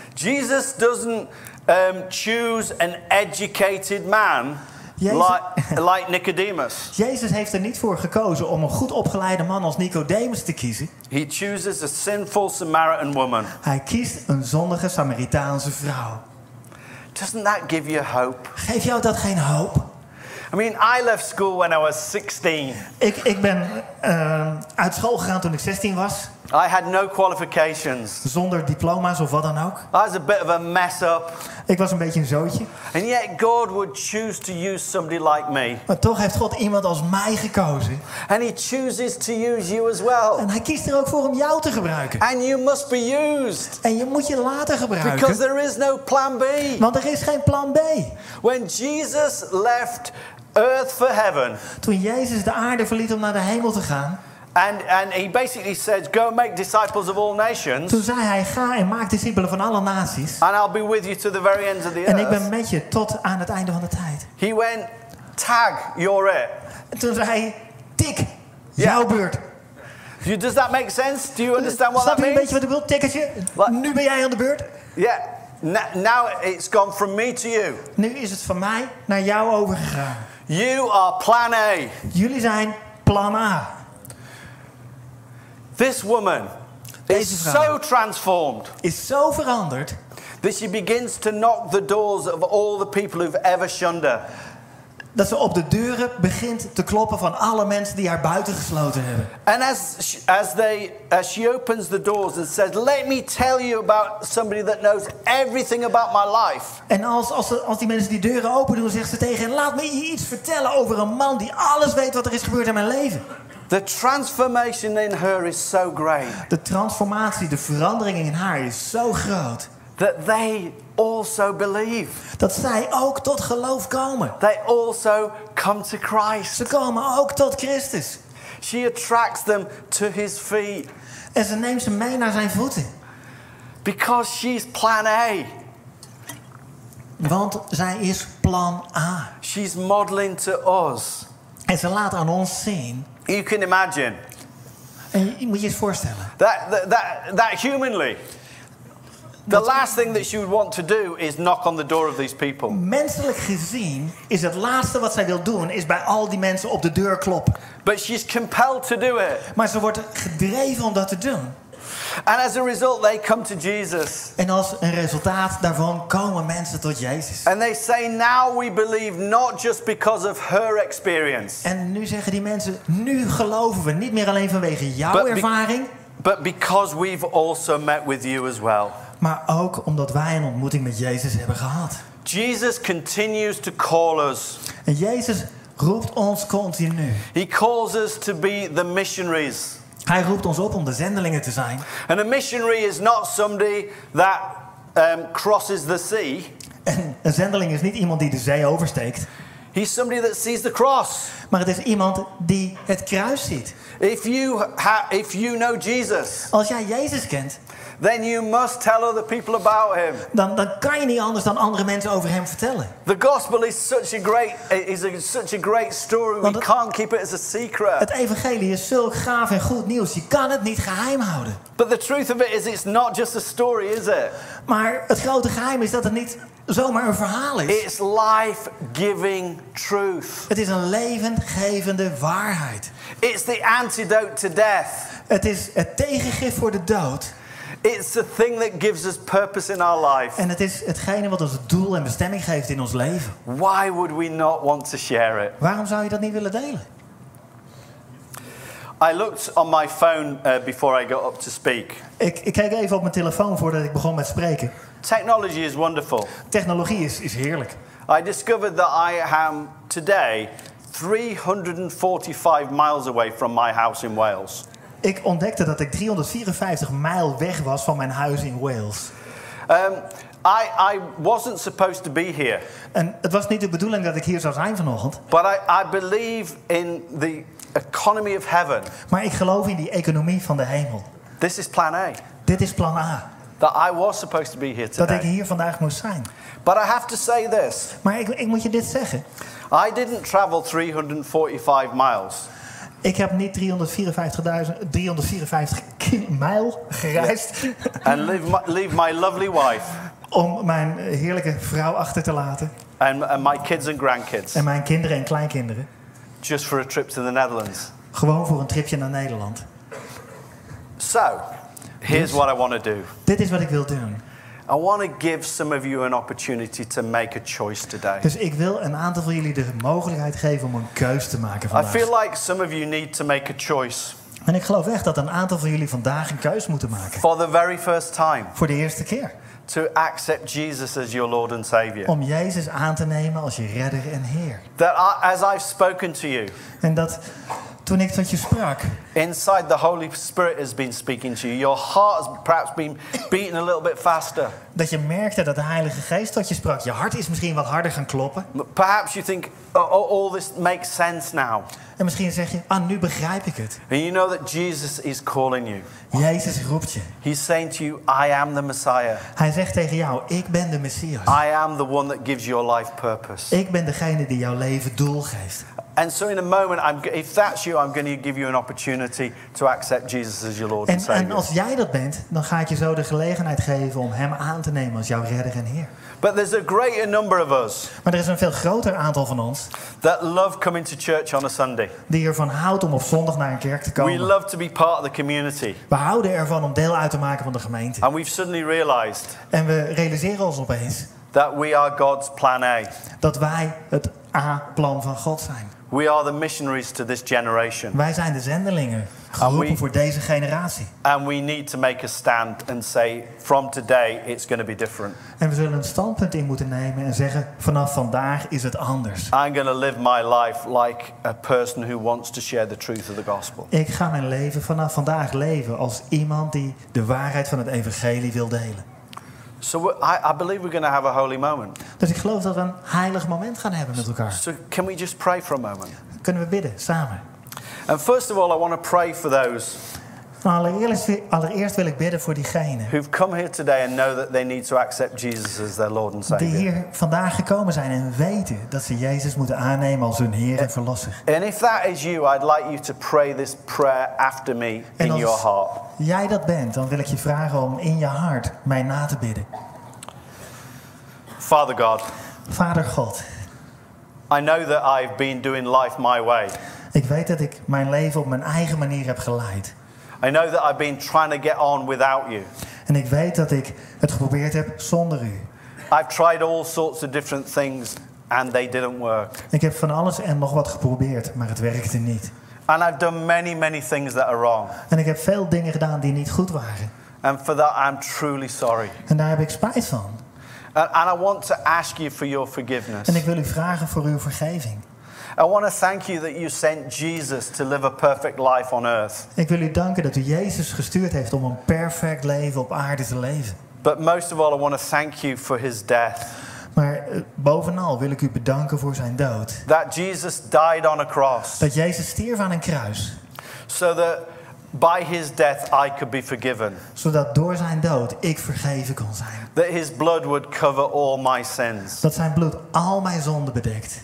S2: Jesus doesn't choose an educated man. Like Nicodemus.
S3: Jezus heeft er niet voor gekozen om een goed opgeleide man als Nicodemus te kiezen.
S2: He chooses a sinful Samaritan woman.
S3: Hij kiest een zondige Samaritaanse vrouw.
S2: Doesn't that give you hope?
S3: Geeft jou dat geen hoop?
S2: I mean, I left school when I was 16.
S3: Ik ben uit school gegaan toen ik 16 was.
S2: I had no qualifications.
S3: Zonder diploma's of wat dan ook.
S2: I was a bit of a mess up.
S3: Ik was een beetje een zootje.
S2: And yet God would choose to use somebody like me.
S3: Maar toch heeft God iemand als mij gekozen.
S2: And he chooses to use you as well.
S3: En hij kiest er ook voor om jou te gebruiken.
S2: And you must be used.
S3: En je moet je laten gebruiken.
S2: Because there is no plan B.
S3: Want er is geen plan B.
S2: When Jesus left earth for heaven.
S3: Toen Jezus de aarde verliet om naar de hemel te gaan.
S2: And he basically said, go and make disciples of all nations.
S3: Toen zei hij, ga en maak discipelen van alle naties.
S2: And I'll be with you to the very ends of the earth.
S3: En ik ben met je tot aan het einde van de tijd.
S2: He went, tag, you're it.
S3: En toen zei hij, tik, jouw beurt.
S2: Does that make sense? Do you understand what that means?
S3: Snap je een beetje wat ik wil? Tikkertje, nu ben jij aan de beurt.
S2: Yeah. Now it's gone from me to you.
S3: Nu is het van mij naar jou overgegaan.
S2: You are plan A.
S3: Jullie zijn plan A.
S2: This woman is so transformed.
S3: Is zo veranderd.
S2: That she begins to knock the doors of all the people who've ever shunned her.
S3: dat ze op de deuren begint te kloppen van alle mensen die haar buiten gesloten hebben.
S2: And as she opens the doors and says, "Let me tell you about somebody that knows everything about my life."
S3: En als die mensen die deuren open doen, zegt ze tegen hen: laat me je iets vertellen over een man die alles weet wat er is gebeurd in mijn leven.
S2: The transformation in her is so great.
S3: De transformatie, de verandering in haar is zo groot.
S2: That they also believe.
S3: Dat zij ook tot geloof komen.
S2: They also come to Christ.
S3: Ze komen ook tot Christus.
S2: She attracts them to his feet.
S3: En ze neemt ze mee naar zijn voeten.
S2: Because she's plan A.
S3: Want zij is plan A.
S2: She's modeling to us.
S3: En ze laat aan ons zien.
S2: You can imagine.
S3: En je moet je eens voorstellen.
S2: That humanly. The last thing that she would want to do is knock on the door of these people.
S3: Menselijk gezien is het laatste wat zij wil doen is bij al die mensen op de deur kloppen.
S2: But she's compelled to do it.
S3: Maar ze wordt gedreven om dat te doen.
S2: And as a result they come to Jesus.
S3: En als een resultaat daarvan komen mensen tot Jezus.
S2: And they say, now we believe not just because of her experience.
S3: En nu zeggen die mensen, nu geloven we niet meer alleen vanwege jouw ervaring.
S2: But because we've also met with you as well.
S3: Maar ook omdat wij een ontmoeting met Jezus hebben gehad.
S2: Jesus continues to call us.
S3: En Jezus roept ons continu.
S2: He calls us to be the missionaries.
S3: Hij roept ons op om de zendelingen te zijn.
S2: And a missionary is not somebody that crosses the sea.
S3: En een zendeling is niet iemand die de zee oversteekt.
S2: He's somebody that sees the cross.
S3: Maar het is iemand die het kruis ziet.
S2: If you know Jesus.
S3: Als jij Jezus kent.
S2: Then you must tell other people about him.
S3: Dan kan je niet anders dan andere mensen over hem vertellen.
S2: The gospel is such a great story. We can't keep it as a secret.
S3: Het evangelie is zulk gaaf en goed nieuws. Je kan het niet geheim houden.
S2: But the truth of it is, it's not just a story, is it?
S3: Maar het grote geheim is dat het niet zomaar een verhaal is.
S2: It's life-giving truth.
S3: Het is een levendgevende waarheid.
S2: It's the antidote to death.
S3: Het is het tegengif voor de dood.
S2: It's the thing that gives us purpose in our life.
S3: En het is hetgene wat ons doel en bestemming geeft in ons leven.
S2: Why would we not want to share it?
S3: Waarom zou je dat niet willen delen?
S2: I looked on my phone before I got up to speak.
S3: Ik keek even op mijn telefoon voordat ik begon met spreken.
S2: Technology is wonderful.
S3: Technologie is heerlijk.
S2: I discovered that I am today 345 miles away from my house in Wales.
S3: Ik ontdekte dat ik 354 mijl weg was van mijn huis in Wales.
S2: I wasn't supposed to be here.
S3: En het was niet de bedoeling dat ik hier zou zijn vanochtend.
S2: But I believe in the economy of heaven.
S3: Maar ik geloof in die economie van de hemel.
S2: This is plan A.
S3: Dit is plan A.
S2: That I was supposed to be here today.
S3: Dat ik hier vandaag moest zijn.
S2: But I have to say this.
S3: Maar ik moet je dit zeggen.
S2: I didn't travel 345 miles.
S3: Ik heb niet 354 mijl gereisd.
S2: And leave my lovely wife.
S3: Om mijn heerlijke vrouw achter te laten.
S2: And my kids and grandkids.
S3: En mijn kinderen en kleinkinderen.
S2: Just for a trip to the Netherlands.
S3: Gewoon voor een tripje naar Nederland.
S2: So, here's what I want to do.
S3: Dit is wat ik wil doen.
S2: I want to give some of you an opportunity to make a choice today.
S3: Dus ik wil een aantal van jullie de mogelijkheid geven om een keus te maken vandaag.
S2: I feel like some of you need to make a choice.
S3: En ik geloof echt dat een aantal van jullie vandaag een keus moeten maken.
S2: For the very first time.
S3: Voor de eerste keer.
S2: To accept Jesus as your Lord and Savior.
S3: Om Jezus aan te nemen als je redder en Heer.
S2: That as I've spoken to you.
S3: En dat toen ik tot je sprak.
S2: Inside the Holy Spirit has been speaking to you. Your heart has perhaps been beating a little bit faster.
S3: Dat je merkte dat de Heilige Geest tot je sprak. Je hart is misschien wat harder gaan kloppen.
S2: Perhaps you think, all this makes sense now.
S3: En misschien zeg je, nu begrijp ik het.
S2: And you know that Jesus is calling you.
S3: Jezus roept je.
S2: He's saying to you, I am the Messiah.
S3: Hij zegt tegen jou, ik ben de Messias.
S2: I am the one that gives your life purpose.
S3: Ik ben degene die jouw leven doel geeft.
S2: And so in a moment, if that's you, I'm going to give you an opportunity to accept Jesus as your Lord and Savior.
S3: En als jij dat bent, dan ga ik je zo de gelegenheid geven om hem aan te nemen als jouw redder en Heer.
S2: But there's a greater number of us.
S3: Maar er is een veel groter aantal van ons.
S2: That love coming to church on a Sunday.
S3: Die ervan houdt om op zondag naar een kerk te komen.
S2: We love to be part of the community.
S3: We houden ervan om deel uit te maken van de gemeente.
S2: And we've suddenly realized.
S3: En we realiseren ons opeens.
S2: That we are God's plan A.
S3: Dat wij het A-plan van God zijn.
S2: We are the missionaries to this generation.
S3: Wij zijn de zendelingen, geroepen voor deze generatie.
S2: And we need to make a stand and say, from today it's going to be different.
S3: En we zullen een standpunt in moeten nemen en zeggen, vanaf vandaag is het anders.
S2: I'm going to live my life like a person who wants to share the truth of the gospel.
S3: Ik ga mijn leven vanaf vandaag leven als iemand die de waarheid van het evangelie wil delen.
S2: So I believe we're going to have a holy moment.
S3: Dus ik geloof dat we een heilig moment gaan hebben met elkaar.
S2: So can we just pray for a moment?
S3: Kunnen we bidden, samen.
S2: And first of all, I want to pray for those
S3: Allereerst wil ik bidden voor diegenen
S2: who've come here today and know that they need to accept Jesus as their Lord and Savior.
S3: die hier vandaag gekomen zijn en weten dat ze Jezus moeten aannemen als hun Heer en Verlosser.
S2: And if that is you, I'd like you to pray this prayer after me in your heart.
S3: Jij dat bent, dan wil ik je vragen om in je hart mij na te bidden.
S2: Father God.
S3: Vader God.
S2: I know that I've been doing life my way.
S3: Ik weet dat ik mijn leven op mijn eigen manier heb geleid.
S2: I know that I've been trying to get on without you.
S3: En ik weet dat ik het geprobeerd heb zonder u.
S2: I've tried all sorts of different things and they didn't work.
S3: Ik heb van alles en nog wat geprobeerd, maar het werkte niet.
S2: And I've done many things that are wrong.
S3: En ik heb veel dingen gedaan die niet goed waren.
S2: And for that I'm truly sorry.
S3: En daar heb ik spijt van.
S2: And I want to ask you for your forgiveness.
S3: En ik wil u vragen voor uw vergeving.
S2: I want to thank you that you sent Jesus to live a perfect life on earth.
S3: Ik wil u danken dat u Jezus gestuurd heeft om een perfect leven op aarde te leven.
S2: But most of all, I want to thank you for his death.
S3: Maar bovenal wil ik u bedanken voor zijn dood.
S2: That Jesus died on a cross.
S3: Dat Jezus stierf aan een kruis.
S2: So that by his death I could be forgiven.
S3: Zodat door zijn dood ik vergeven kon zijn.
S2: That his blood would cover all my sins.
S3: Dat zijn bloed al mijn zonden bedekt.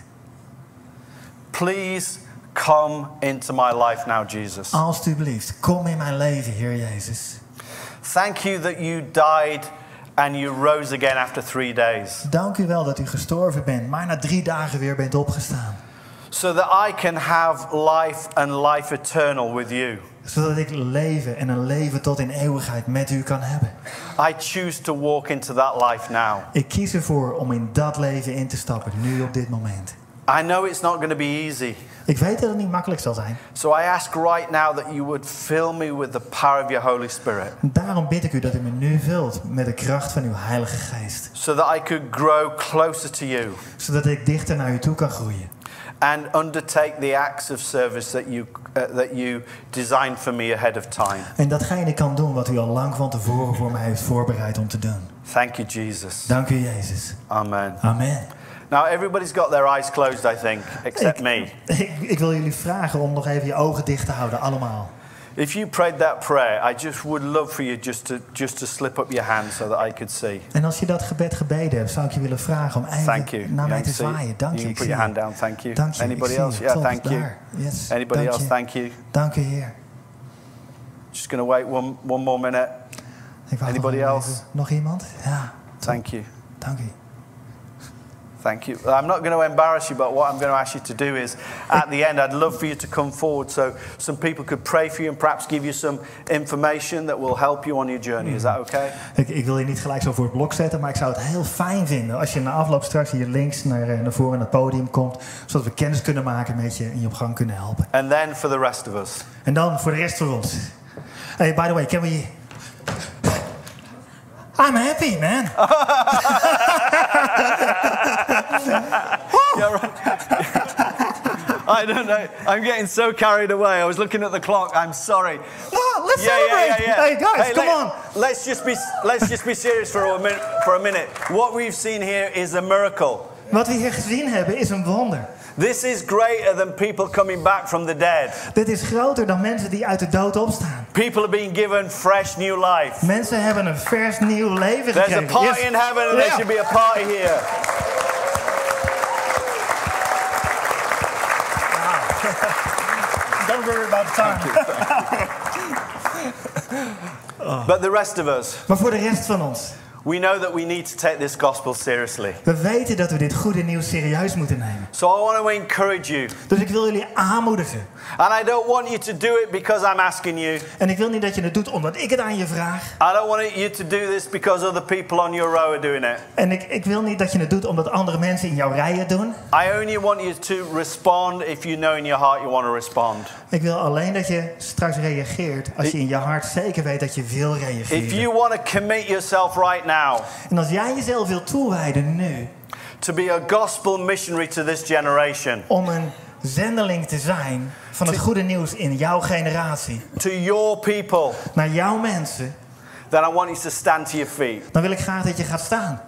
S2: Please come into my life now, Jesus.
S3: Alsjeblieft, kom in mijn leven, Heer Jezus.
S2: Thank you that you died and you rose again after 3 days.
S3: Dank u wel dat u gestorven bent, maar na 3 dagen weer bent opgestaan.
S2: So that I can have life and life eternal with you.
S3: Zodat ik leven en een leven tot in eeuwigheid met u kan hebben.
S2: I choose to walk into that life now.
S3: Ik kies ervoor om in dat leven in te stappen, nu op dit moment.
S2: I know it's not going to be easy.
S3: Ik weet dat het niet makkelijk zal zijn.
S2: So I ask right now that you would fill me with the power of your Holy Spirit.
S3: Daarom bid ik u dat u me nu vult met de kracht van uw Heilige Geest.
S2: So that I could grow closer to you.
S3: Zodat ik dichter naar u toe kan groeien.
S2: And undertake the acts of service that you designed for me ahead of time.
S3: En datgene kan doen wat u al lang van tevoren voor mij heeft voorbereid om te doen.
S2: Thank you, Jesus.
S3: Dank u, Jezus.
S2: Amen.
S3: Amen.
S2: Now everybody's got their eyes closed, I think, except me.
S3: Ik wil jullie vragen om nog even je ogen dicht te houden, allemaal.
S2: If you prayed that prayer, I just would love for you just to slip up your hand so that I could see.
S3: En als je dat gebed gebeden hebt, zou ik je willen vragen om even naar mij te zwaaien. Dank je.
S2: You can put your hand down. Thank you.
S3: Dank je.
S2: Anybody else? Yeah, thank you.
S3: Yes.
S2: Anybody else? Thank you.
S3: Dank u, Heer.
S2: Just going to wait one more minute. Anybody else?
S3: Nog iemand? Ja.
S2: Thank you.
S3: Dank u.
S2: Thank you. I'm not going to embarrass you, but what I'm going to ask you to do is, at the end, I'd love for you to come forward so some people could pray for you and perhaps give you some information that will help you on your journey. Is that okay?
S3: Ik wil je niet gelijk zo voor het blok zetten, maar ik zou het heel fijn vinden als je na afloop straks hier links naar voren aan het podium komt, zodat we kennis kunnen maken met je en je op gang kunnen helpen.
S2: And then for the rest of us.
S3: En dan voor de rest van ons. Hey, by the way, can we... I'm happy, man.
S2: Yeah, right. I don't know. I'm getting so carried away. I was looking at the clock. I'm sorry.
S3: Oh, let's celebrate.
S2: Yeah.
S3: Hey guys, come on.
S2: Let's just be serious for a minute. What we've seen here is a miracle.
S3: Wat we hier gezien hebben is een wonder.
S2: This is greater than people coming back from the dead.
S3: Dit is groter dan mensen die uit de dood opstaan.
S2: People are being given fresh new life.
S3: Mensen hebben een vers nieuw leven gekregen.
S2: There's a party in heaven and there should be a party here.
S3: Don't worry about the time.
S2: But the rest of us.
S3: Maar voor de rest van ons.
S2: We know that we need to take this gospel seriously.
S3: We weten dat we dit goede nieuws serieus moeten nemen.
S2: So I want to encourage you.
S3: Dus ik wil jullie aanmoedigen.
S2: And I don't want you to do it because I'm asking you.
S3: En ik wil niet dat je het doet omdat ik het aan je vraag.
S2: I don't want you to do this because other people on your row are doing it.
S3: En ik wil niet dat je het doet omdat andere mensen in jouw rij het doen.
S2: I only want you to respond if you know in your heart you want to respond.
S3: Ik wil alleen dat je straks reageert als je in je hart zeker weet dat je wil reageren.
S2: If you want to commit yourself right now.
S3: En als jij jezelf wil toewijden nu.
S2: To be a gospel missionary to this generation.
S3: Om een zendeling te zijn van het goede nieuws in jouw generatie.
S2: To your people.
S3: Naar jouw mensen.
S2: Then I want you to stand to your feet.
S3: Dan wil ik graag dat je gaat staan.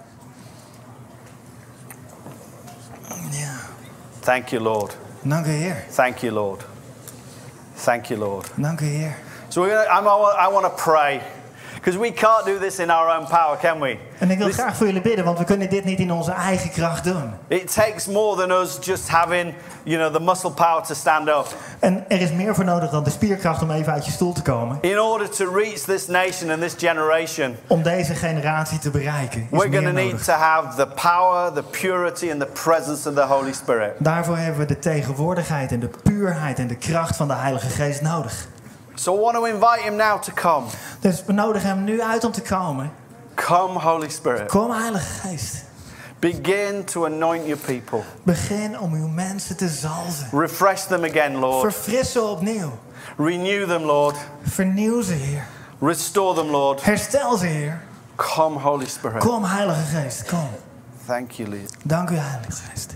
S3: Ja.
S2: Thank you, Lord.
S3: Dank u, Heer.
S2: Thank you, Lord. Thank you, Lord.
S3: Dank u, Heer.
S2: So I want to pray. Because we can't do this in our own power, can we?
S3: En ik wil graag voor jullie bidden, want we kunnen dit niet in onze eigen kracht doen.
S2: It takes more than us just having, the muscle power to stand up.
S3: En er is meer voor nodig dan de spierkracht om even uit je stoel te komen.
S2: In order to reach this nation and this generation.
S3: Om deze generatie te bereiken.
S2: We're going to need to have the power, the purity and the presence of the Holy Spirit.
S3: Daarvoor hebben we de tegenwoordigheid en de puurheid en de kracht van de Heilige Geest nodig.
S2: So I want to invite him now to come.
S3: Dus we nodigen hem nu uit om te komen.
S2: Come, Holy Spirit.
S3: Kom, Heilige Geest.
S2: Begin to anoint your people.
S3: Begin om uw mensen te zalven.
S2: Refresh them again, Lord.
S3: Verfris ze opnieuw.
S2: Renew them, Lord.
S3: Vernieuw ze, Heer.
S2: Restore them, Lord.
S3: Herstel ze, Heer.
S2: Come, Holy Spirit.
S3: Kom, Heilige Geest, kom.
S2: Thank you, Lord.
S3: Dank u, Heilige Geest.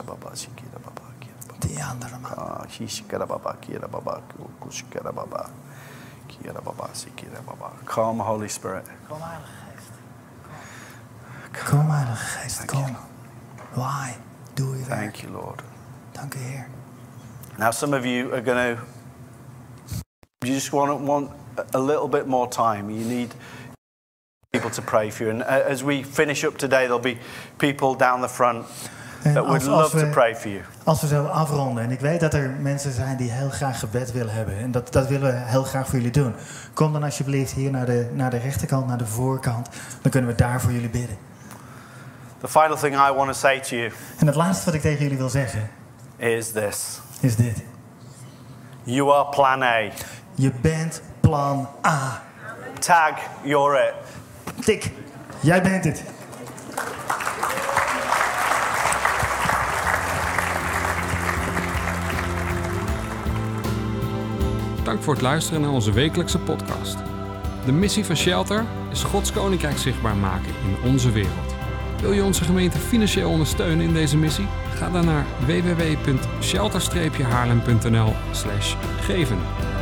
S2: Come, Holy Spirit.
S3: Kom, Heilige Geest. Kom, Heilige Geest, kom. Why? Doe uw werk.
S2: Thank you, Lord.
S3: Dank u, Heer.
S2: Now, some of you are going to. You just want a little bit more time. You need people to pray for you. And as we finish up today, there'll be people down the front that would love to pray for you.
S3: Als we zo afronden, en ik weet dat er mensen zijn die heel graag gebed willen hebben. En dat willen we heel graag voor jullie doen. Kom dan alsjeblieft hier naar de rechterkant, naar de voorkant. Dan kunnen we daar voor jullie bidden.
S2: The final thing I want to say to you.
S3: En het laatste wat ik tegen jullie wil zeggen.
S2: Is this.
S3: Is dit.
S2: You are plan A.
S3: Je bent plan A.
S2: Tag, you're it.
S3: Tik, jij bent het.
S1: Dank voor het luisteren naar onze wekelijkse podcast. De missie van Shelter is Gods Koninkrijk zichtbaar maken in onze wereld. Wil je onze gemeente financieel ondersteunen in deze missie? Ga dan naar www.shelter-haarlem.nl/geven.